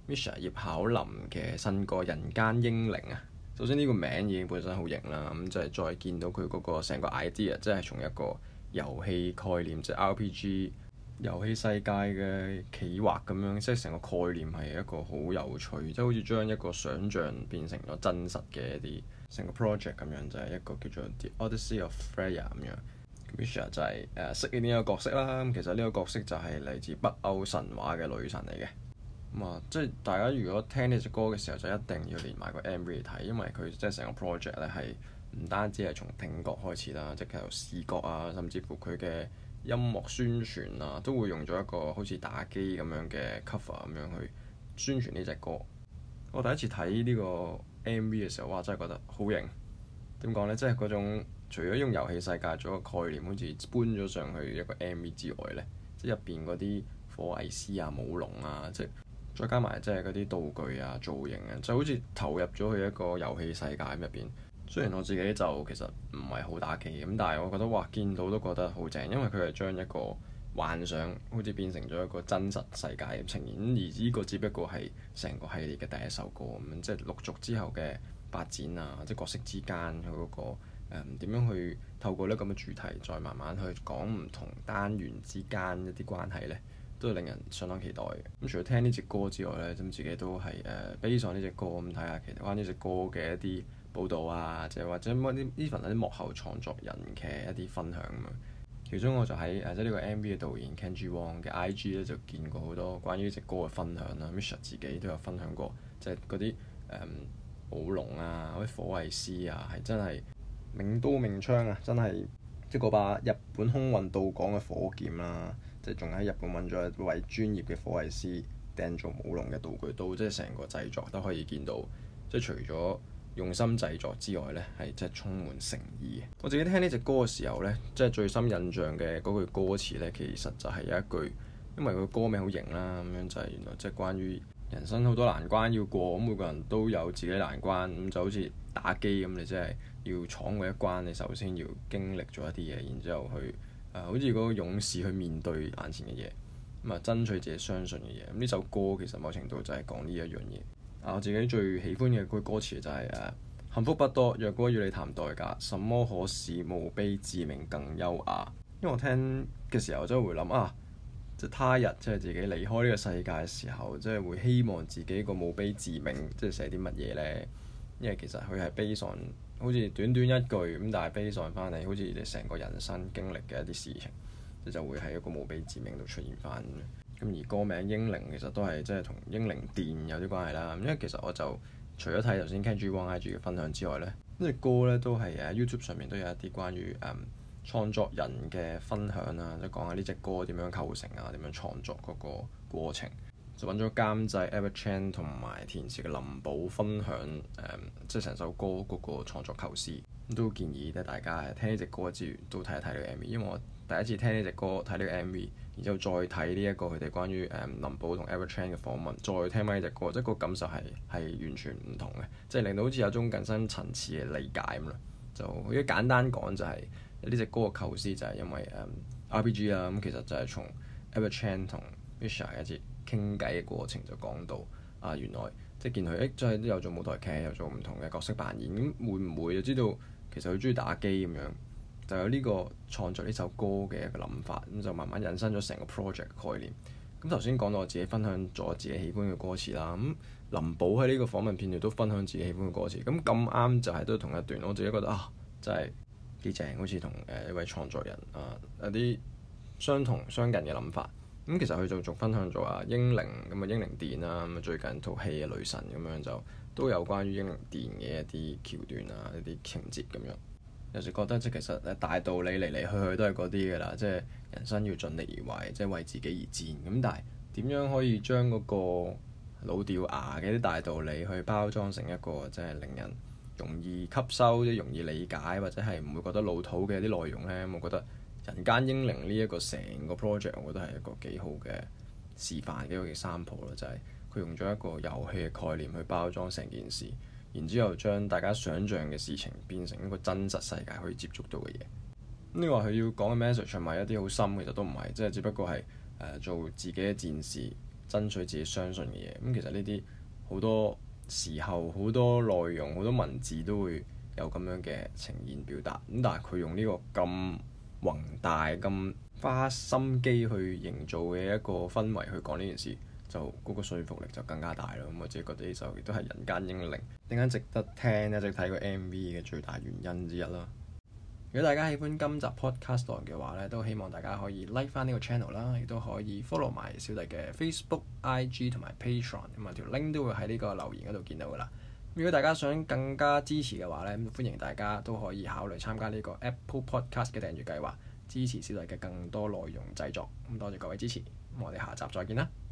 Misha 葉巧琳嘅新歌《人間英靈》啊。首先呢個名已經本身好型啦，咁就係再見到佢嗰個成個 idea，即係從一個遊戲概念，即係 RPG 遊戲世界嘅企劃咁樣，即係成個概念係一個好有趣，即係好似將一個想像變成咗真實嘅一啲成個 project 咁樣，就係一個叫做 The Odyssey of Freya 咁樣。Misha 就係飾演呢個角色啦。咁其實呢個角色就係嚟自北歐神話嘅女神嚟嘅。即係大家如果聽呢隻歌嘅時候，就一定要連埋個 MV 嚟睇，因為佢即係成個 project 咧係唔單止係從聽覺開始啦，即係由視覺啊，甚至乎佢嘅音樂宣傳啊，都會用咗一個好似打機咁樣嘅 cover 咁樣去宣傳呢隻歌。我第一次睇呢個 MV 嘅時候，哇！真係覺得好型。點講呢？即係嗰種除咗用遊戲世界做一個概念，好似搬咗上去一個 MV 之外呢，即係入邊嗰啲火藝師啊、舞龍啊，即係再加埋即係嗰啲道具啊、造型啊，就好似投入咗去一個遊戲世界入邊。雖然我自己就其實唔係好打機咁，但係我覺得哇，見到都覺得好正，因為佢係將一個幻想好似變成咗一個真實世界嘅呈現。而呢個只不過係成個系列嘅第一首歌咁樣，即係陸續之後嘅發展啊，即係角色之間佢嗰個點樣去透過呢咁嘅主題，再慢慢去講唔同單元之間一啲關係呢，都係令人相當期待嘅。咁除咗聽呢隻歌之外呢，咁自己都係悲上呢隻歌咁睇下其實關於呢隻歌嘅一啲報導啊，即係或者乜啲 even 啲幕後創作人嘅一啲分享咁樣。其中我就喺即係呢個 MV 嘅導演 Kenji Wong 嘅 IG 咧就見過好多關於呢隻歌嘅分享啦。Misha 自己都有分享過，即係嗰啲舞龍啊、嗰啲火藝師啊，係真係明刀明槍啊！真係即係嗰把日本空運到港嘅火劍啦，即係仲喺日本揾咗一位專業嘅火藝師訂做舞龍嘅道具刀，即係成個製作都可以見到，即係除咗用心製作之外呢，係真係充滿誠意嘅。我自己聽呢隻歌嘅時候呢，即係最深印象嘅嗰句歌詞呢，其實就係有一句，因為佢歌名好型啦，咁樣就係原來即係關於人生好多難關要過，咁每個人都有自己難關，咁就好似打機咁，你即係要闖過一關，你首先要經歷咗一啲嘢，然之後去好似嗰個勇士去面對眼前嘅嘢，咁啊爭取自己相信嘅嘢。咁呢首歌其實某程度就係講呢一樣嘢。我自己最喜歡嘅句歌詞就係幸福不多，若果與你談代價，什麼可使墓碑誌銘更優雅？因為我聽嘅時候真係會諗即係他日即係自己離開呢個世界嘅時候，即係會希望自己個墓碑誌銘即係寫啲乜嘢呢？因為其實佢係悲傷，好似短短一句咁，但係悲傷翻嚟，好似你成個人生經歷嘅一啲事情，就會喺一個墓碑誌銘度出現翻。咁而歌名英靈其實都係即係同英靈殿有啲關係啦。因為其實我就除咗睇頭先 Kenji Wong IG 嘅分享之外呢，呢隻歌呢都係YouTube 上面都有一啲關於創作人嘅分享啊，即係講下呢隻歌點樣構成啊，點樣創作嗰個過程。就揾咗監製 Edward Chan 同埋填詞嘅林寶分享即係成首歌嗰個創作構思。都建議咧大家聽呢隻歌之餘都睇一睇呢個 MV，因為我第一次聽呢隻歌睇呢個 MV，然之後再睇呢一個佢哋關於林寶同 Edward Chan 嘅訪問，再聽翻呢隻歌，即係個感受係完全唔同嘅，即係令到好似有種更深層次嘅理解咁啦。就好似簡單講就係呢隻歌嘅構思就係因為RPG 啦，咁其實就係從 Edward Chan 同 Misha 一節傾偈嘅過程就講到原來即係見佢即係都有做舞台劇，有做唔同嘅角色扮演，咁會唔會就知道其實佢中意打機咁樣，就有呢個創作呢首歌嘅一個諗法，咁就慢慢引申咗成個 project 概念。咁頭先講到我自己分享咗自己喜歡嘅歌詞啦，咁林寶喺呢個訪問片段都分享自己喜歡嘅歌詞，咁咁啱就係都同一段，我自己覺得真係幾正，好似同一位創作人有啲相近嘅諗法。咁其實佢就仲分享咗英靈咁英靈殿啦，咁最近套戲嘅女神咁樣就都有關於英靈殿嘅一啲橋段一啲情節咁樣。有時覺得即係其實大道理嚟嚟去去都係嗰啲㗎啦，即係人生要盡力而為，即係為自己而戰。咁但係點樣可以將嗰個老掉牙嘅啲大道理去包裝成一個即係令人容易吸收、即係容易理解或者係唔會覺得老土嘅一啲內容呢？我覺得人間英靈呢一個成個 project，我覺得係一個幾好嘅示範，幾好嘅 sample 咯，就係佢用咗一個遊戲嘅概念去包裝成件事，然之後將大家想像嘅事情變成一個真實世界可以接觸到嘅嘢。呢個佢要講嘅 message 係咪一啲好深？其實都唔係，即係只不過係做自己嘅戰士， 爭取自己相信嘅嘢。咁其實呢啲好多時候好多內容好多文字都會有咁樣嘅呈現表達。咁但係佢用呢個咁宏大咁花心機去營造嘅一個氛圍去講呢件事，就嗰個說服力就更加大咯。咁我自己覺得呢首亦都係人間英靈點解值得聽一直睇個 MV 嘅最大原因之一啦。如果大家喜歡今集 podcast 嘅話咧，都希望大家可以 like 翻呢個 channel 啦，亦都可以 follow 埋小弟嘅 Facebook、IG 同埋 Patreon，咁啊條 link 都會喺呢個留言嗰度見到噶啦。如果大家想更加支持嘅話咧，歡迎大家都可以考慮參加呢個 Apple Podcast 嘅訂閱計劃，支持小弟嘅更多內容製作。咁多謝各位支持，咁我哋下集再見啦〜